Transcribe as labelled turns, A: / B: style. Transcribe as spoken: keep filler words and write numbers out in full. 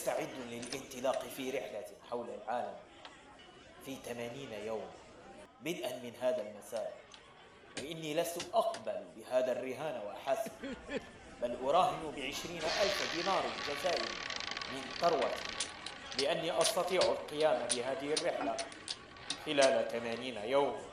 A: مستعد للانطلاق في رحلة حول العالم في ثمانين يوم بدءا من هذا المساء، وإني لست أقبل بهذا الرهان وحسب، بل أراهن بعشرين ألف دينار جزائري من ثروتي لأني أستطيع القيام بهذه الرحلة خلال ثمانين يوم.